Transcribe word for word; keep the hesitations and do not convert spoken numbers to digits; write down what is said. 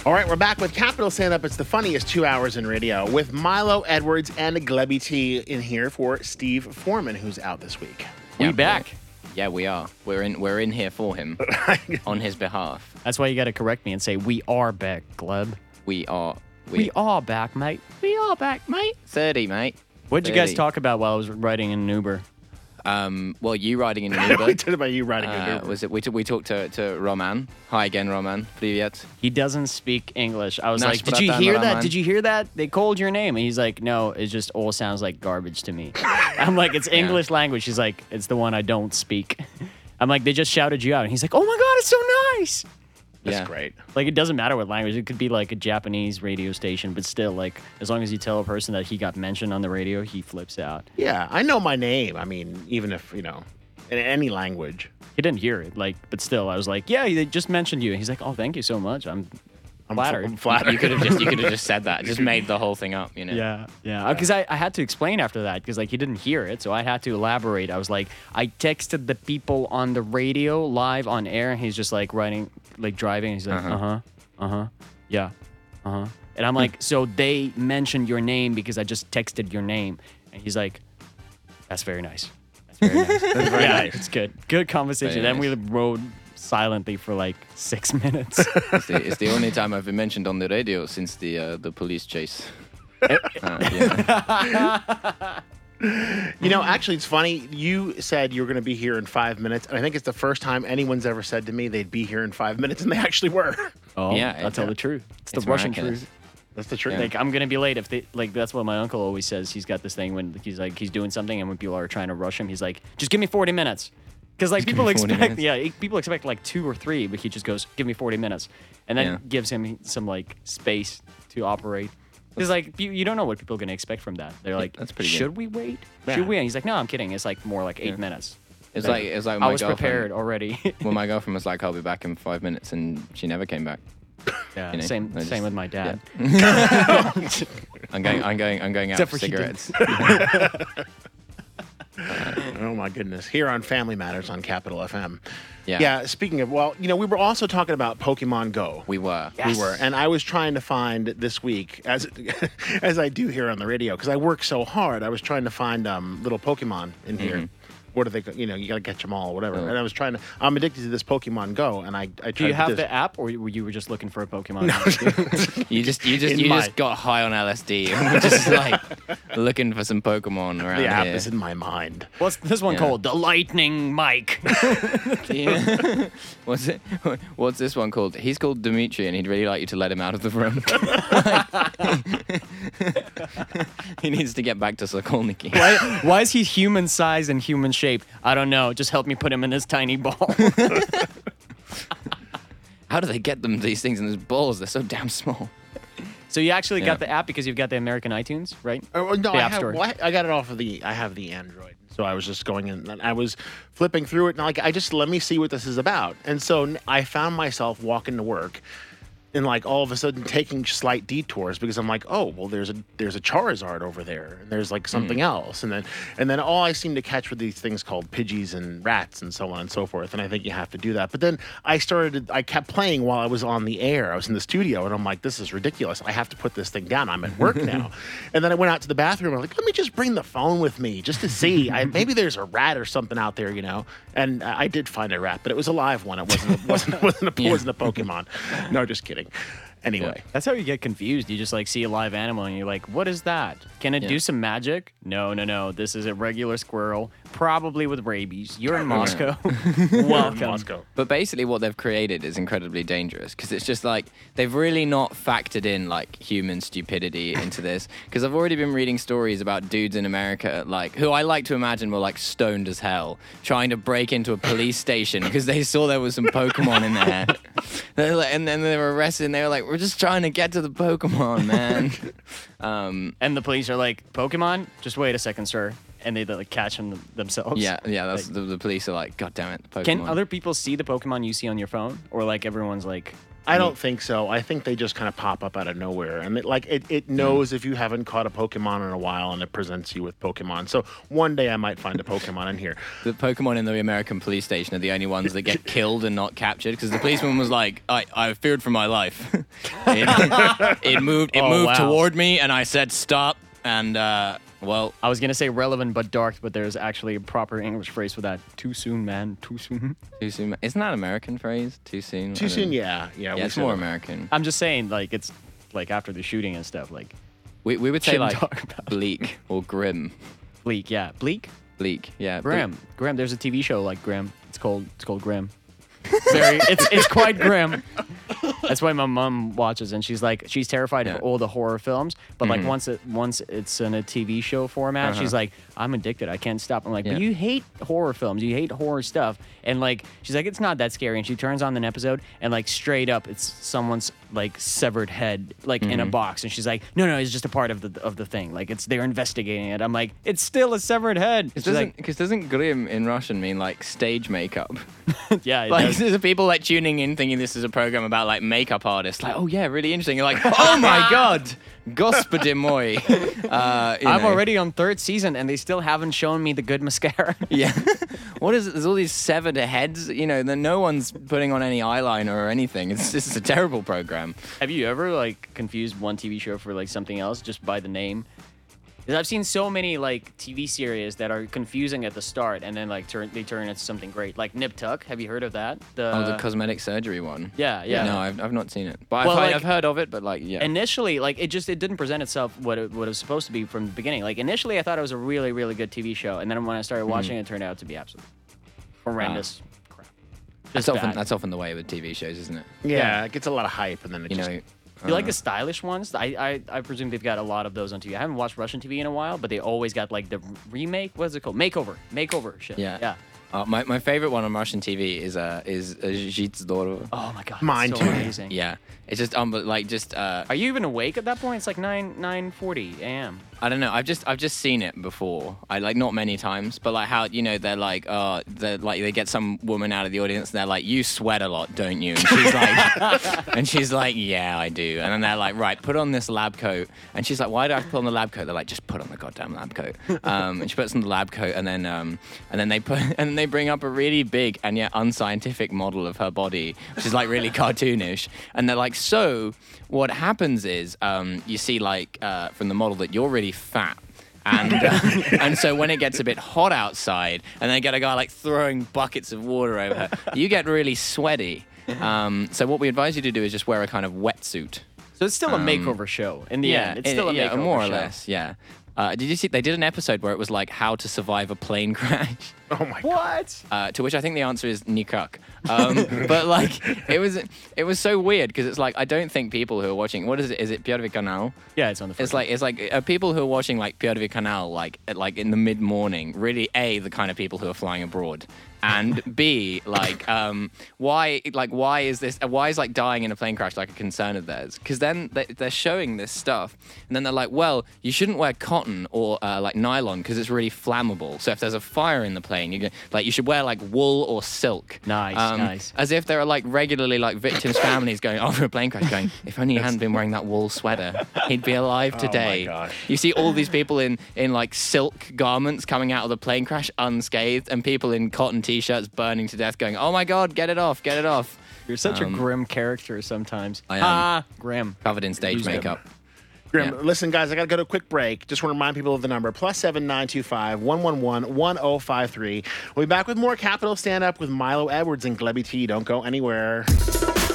All right, we're back with Capital Stand Up. It's the funniest two hours in radio with Milo Edwards and Glebby T in here for Steve Foreman, who's out this week. We Yeah, back. Yeah, we are. We're in. We're in here for him on his behalf. That's why you got to correct me and say we are back, Gleb. We are. We, We, are back, mate. We are back, mate. thirty, mate. What did you guys thirty. talk about while I was riding in an Uber? Um. Well, you riding in an we Uber. talked about you riding an Uh, Uber. was it? We, t- we talked to, to Roman. Hi again, Roman. Привет. He doesn't speak English. I was Nasz like, did you bratan, hear that? Roman. Did you hear that? They called your name. And he's like, no, it just all sounds like garbage to me. I'm like, it's English language. He's like, it's the one I don't speak. I'm like, they just shouted you out. And he's like, oh my God, it's so nice. That's yeah. great. Like, it doesn't matter what language. It could be like a Japanese radio station, but still, like, as long as you tell a person that he got mentioned on the radio, he flips out. Yeah, I know my name. I mean, even if, you know, in any language. He didn't hear it, like, but still, I was like, yeah, they just mentioned you. And he's like, oh, thank you so much. I'm I'm flattered. I'm flattered. You could have just. You could have just said that. Just made the whole thing up. You know. Yeah, yeah. Because I, I had to explain after that because like he didn't hear it, so I had to elaborate. I was like, I texted the people on the radio live on air, and he's just like writing, like driving. And he's like, uh huh, uh huh, yeah, uh huh. And I'm like, so they mentioned your name because I just texted your name, and he's like, that's very nice. That's very nice. That's very yeah, nice. It's good. Good conversation. Very Then we rode silently for like six minutes. It's the, it's the only time I've been mentioned on the radio since the uh, the police chase. Uh, yeah. You know, actually, it's funny. You said you were going to be here in five minutes, and I think it's the first time anyone's ever said to me they'd be here in five minutes, and they actually were. Oh, Yeah, I'll tell yeah. the truth. It's, It's the Russian miraculous. truth. That's the truth. Yeah. Like, I'm gonna be late if they like. That's what my uncle always says. He's got this thing when he's like he's doing something, and when people are trying to rush him, he's like, "Just give me forty minutes," because like Just give people me forty expect, minutes. yeah, e- people expect like two or three, but he just goes, "Give me forty minutes," and then Yeah. gives him some like space to operate. Because like you, you don't know what people are gonna expect from that. They're like, that's pretty good. "Should we wait? Yeah. Should we?" And he's like, "No, I'm kidding. It's like more like eight Yeah. minutes." It's like it's like I my was girlfriend. prepared already. Well, my girlfriend was like, "I'll be back in five minutes," and she never came back. yeah, You know, same I same just- with my dad. I'm going. I'm going. I'm going out Except for for she did. cigarettes. Oh, my goodness. Here on Family Matters on Capital F M. Yeah. Yeah, speaking of, well, you know, we were also talking about Pokemon Go. We were. We were, and I was trying to find this week, as as I do here on the radio, because I work so hard. I was trying to find um, little Pokemon in here. What do they? You know, you gotta catch them all, whatever. Oh. And I was trying to. I'm addicted to this Pokemon Go, and I. I tried Do you to have this. the app, or were you were just looking for a Pokemon? You just. You just. In You my- just got high on L S D and were just like looking for some Pokemon around The app here. is in my mind. What's this one Yeah. called? The Lightning Mike. Yeah. What's it? What's this one called? He's called Dimitri, and he'd really like you to let him out of the room. He needs to get back to Sokolniki. why, why is he human size and human shape? I don't know. Just help me put him in this tiny ball. How do they get them these things in those balls? They're so damn small. So you actually Yeah. got the app because you've got the American iTunes, right? Oh, well, no, The I, App have, Store. well, I I got it off of the. I have the Android, so I was just going in. And I was flipping through it, and like I just let me see what this is about. And so n- I found myself walking to work, and like all of a sudden taking slight detours because I'm like, oh well, there's a there's a Charizard over there, and there's like something else, and then and then all I seem to catch were these things called Pidgeys and rats and so on and so forth. And I think you have to do that. But then I started, I kept playing while I was on the air. I was in the studio, and I'm like, this is ridiculous. I have to put this thing down. I'm at work now. And then I went out to the bathroom. I'm like, let me just bring the phone with me just to see. I, maybe there's a rat or something out there, you know. And I did find a rat, but it was a live one. It wasn't. It wasn't. It wasn't a, Yeah. wasn't a Pokemon. No, just kidding. Anyway. That's how you get confused. You just like see a live animal and you're like, what is that? Can it Yeah. do some magic? No, no, no. This is a regular squirrel, probably with rabies. You're in Moscow. Welcome. Moscow. But basically what they've created is incredibly dangerous because it's just like they've really not factored in like human stupidity into this because I've already been reading stories about dudes in America like who I like to imagine were like stoned as hell trying to break into a police station because they saw there was some Pokemon in there. They're like, and then they were arrested and they were like, we're just trying to get to the Pokemon, man. um, And the police are like, Pokemon? Just wait a second, sir. And they like catch them th- themselves. yeah, yeah, that's Like- the, the police are like, God damn it, the Pokemon. Can other people see the Pokemon you see on your phone? Or like everyone's like, I don't think so. I think they just kind of pop up out of nowhere, and it, like it, it knows if you haven't caught a Pokemon in a while, and it presents you with Pokemon. So one day I might find a Pokemon in here. The Pokemon in the American police station are the only ones that get killed and not captured because the policeman was like, "I, I feared for my life." it, it moved, it Oh, moved wow. toward me, and I said stop. And uh, well, I was gonna say relevant but dark, but there's actually a proper English phrase for that. Too soon, man. Too soon. too soon. Isn't that an American phrase? Too soon. I Too don't- soon, yeah, yeah. Yeah, we it's said more it. American. I'm just saying, like it's like after the shooting and stuff, like We we would say Shouldn't like talk about it. bleak or grim. bleak. Yeah, bleak. Bleak. Yeah. Graham. Graham. There's a T V show like Graham. It's called. It's called Graham. Very. It's it's quite grim. That's why my mom watches, and she's like, she's terrified Yeah. of all the horror films. But like Mhm. once it once it's in a T V show format, Uh-huh. she's like, I'm addicted. I can't stop. I'm like, Yeah. but you hate horror films. You hate horror stuff. And like, she's like, it's not that scary. And she turns on an episode, and like straight up, it's someone's like severed head, like in a Mm-hmm. box. And she's like, no, no, it's just a part of the of the thing. Like it's they're investigating it. I'm like, it's still a severed head. Because She's doesn't, like, 'cause doesn't grim in Russian mean like stage makeup? yeah, it Like does. there's people like tuning in thinking this is a program about like makeup artists. Like, oh yeah, really interesting. You're like, oh my god, Господи мой. Uh, you I'm know. already on third season, and they still haven't shown me the good mascara. Yeah. What is it? There's all these severed heads. You know, that no one's putting on any eyeliner or anything. It's this is a terrible program. Have you ever like confused one T V show for like something else just by the name? Because I've seen so many like T V series that are confusing at the start, and then like turn they turn into something great. Like Nip Tuck. Have you heard of that? The, Oh, the cosmetic surgery one. yeah, yeah. No, I've, I've not seen it, but Well, I've, like- I've heard of it. But like, yeah. Initially, like it just it didn't present itself what it, what it was supposed to be from the beginning. Like initially, I thought it was a really really good T V show, and then when I started watching it, it turned out to be absolutely horrendous crap. that's Just often bad. that's often the way with T V shows, isn't it? Yeah, Yeah. it gets a lot of hype, and then it You just know. Do you like uh, the stylish ones? I, I I presume they've got a lot of those on T V. I haven't watched Russian T V in a while, but they always got like the remake. What is it called? Makeover. Makeover shit. Yeah. Yeah. Uh, my my favorite one on Russian T V is uh is uh, Жить здорово. Oh my god. Mine it's so too. amazing. Yeah, it's just um like just uh Are you even awake at that point? It's like nine nine forty a.m. I don't know. I've just I've just seen it before. I like not many times, but like how you know they're like uh they like they get some woman out of the audience and they're like, you sweat a lot, don't you? And she's like, and she's like, yeah, I do. And then they're like, right, put on this lab coat. And she's like, why do I have to put on the lab coat? They're like, just put on the goddamn lab coat. Um, and she puts on the lab coat, and then um and then they put and then they bring up a really big and yet unscientific model of her body, which is like really cartoonish. And they're like, so what happens is um you see like uh from the model that you're really fat. And uh, and so when it gets a bit hot outside, and they get a guy like throwing buckets of water over her, you get really sweaty. Um, so what we advise you to do is just wear a kind of wetsuit. So it's still a Um, makeover show in the end. It's it- still a yeah, makeover more or show. less. Yeah. Uh, did you see? They did an episode where it was like how to survive a plane crash. oh my god. What? Uh, to which I think the answer is nikak. Um, but like it was, it was so weird because it's like I don't think people who are watching. What is it? Is it Pierwszy Kanal? Yeah, it's on the first It's like it's like uh, people who are watching like Pierwszy Kanal like at, like in the mid morning. Really, a the kind of people who are flying abroad, and b like um why like why is this? Uh, why is like dying in a plane crash like a concern of theirs? Because then they, they're showing this stuff, and then they're like, well, you shouldn't wear cotton or uh, like nylon because it's really flammable. So if there's a fire in the plane, you get, like you should wear like wool or silk. Nice, Um, nice. As if there are like regularly like victims' families going after a plane crash, going, if only he hadn't been wearing that wool sweater, he'd be alive Oh my today. gosh. You see all these people in in like silk garments coming out of the plane crash unscathed, and people in cotton t-shirts burning to death, going, "Oh my God, get it off, get it off!" You're such Um, a grim character sometimes. I am. Ah, grim. Covered in stage Who's them? makeup. Grim, Yeah. listen, guys, I got to go to a quick break. Just want to remind people of the number, plus seven nine two five, one one one, one oh five three. We'll be back with more Capital Stand Up with Milo Edwards and Glebby T. Don't go anywhere.